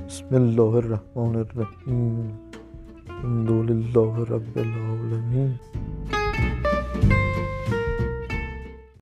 بسم الله الرحمن الرحیم. الحمد لله رب العالمین.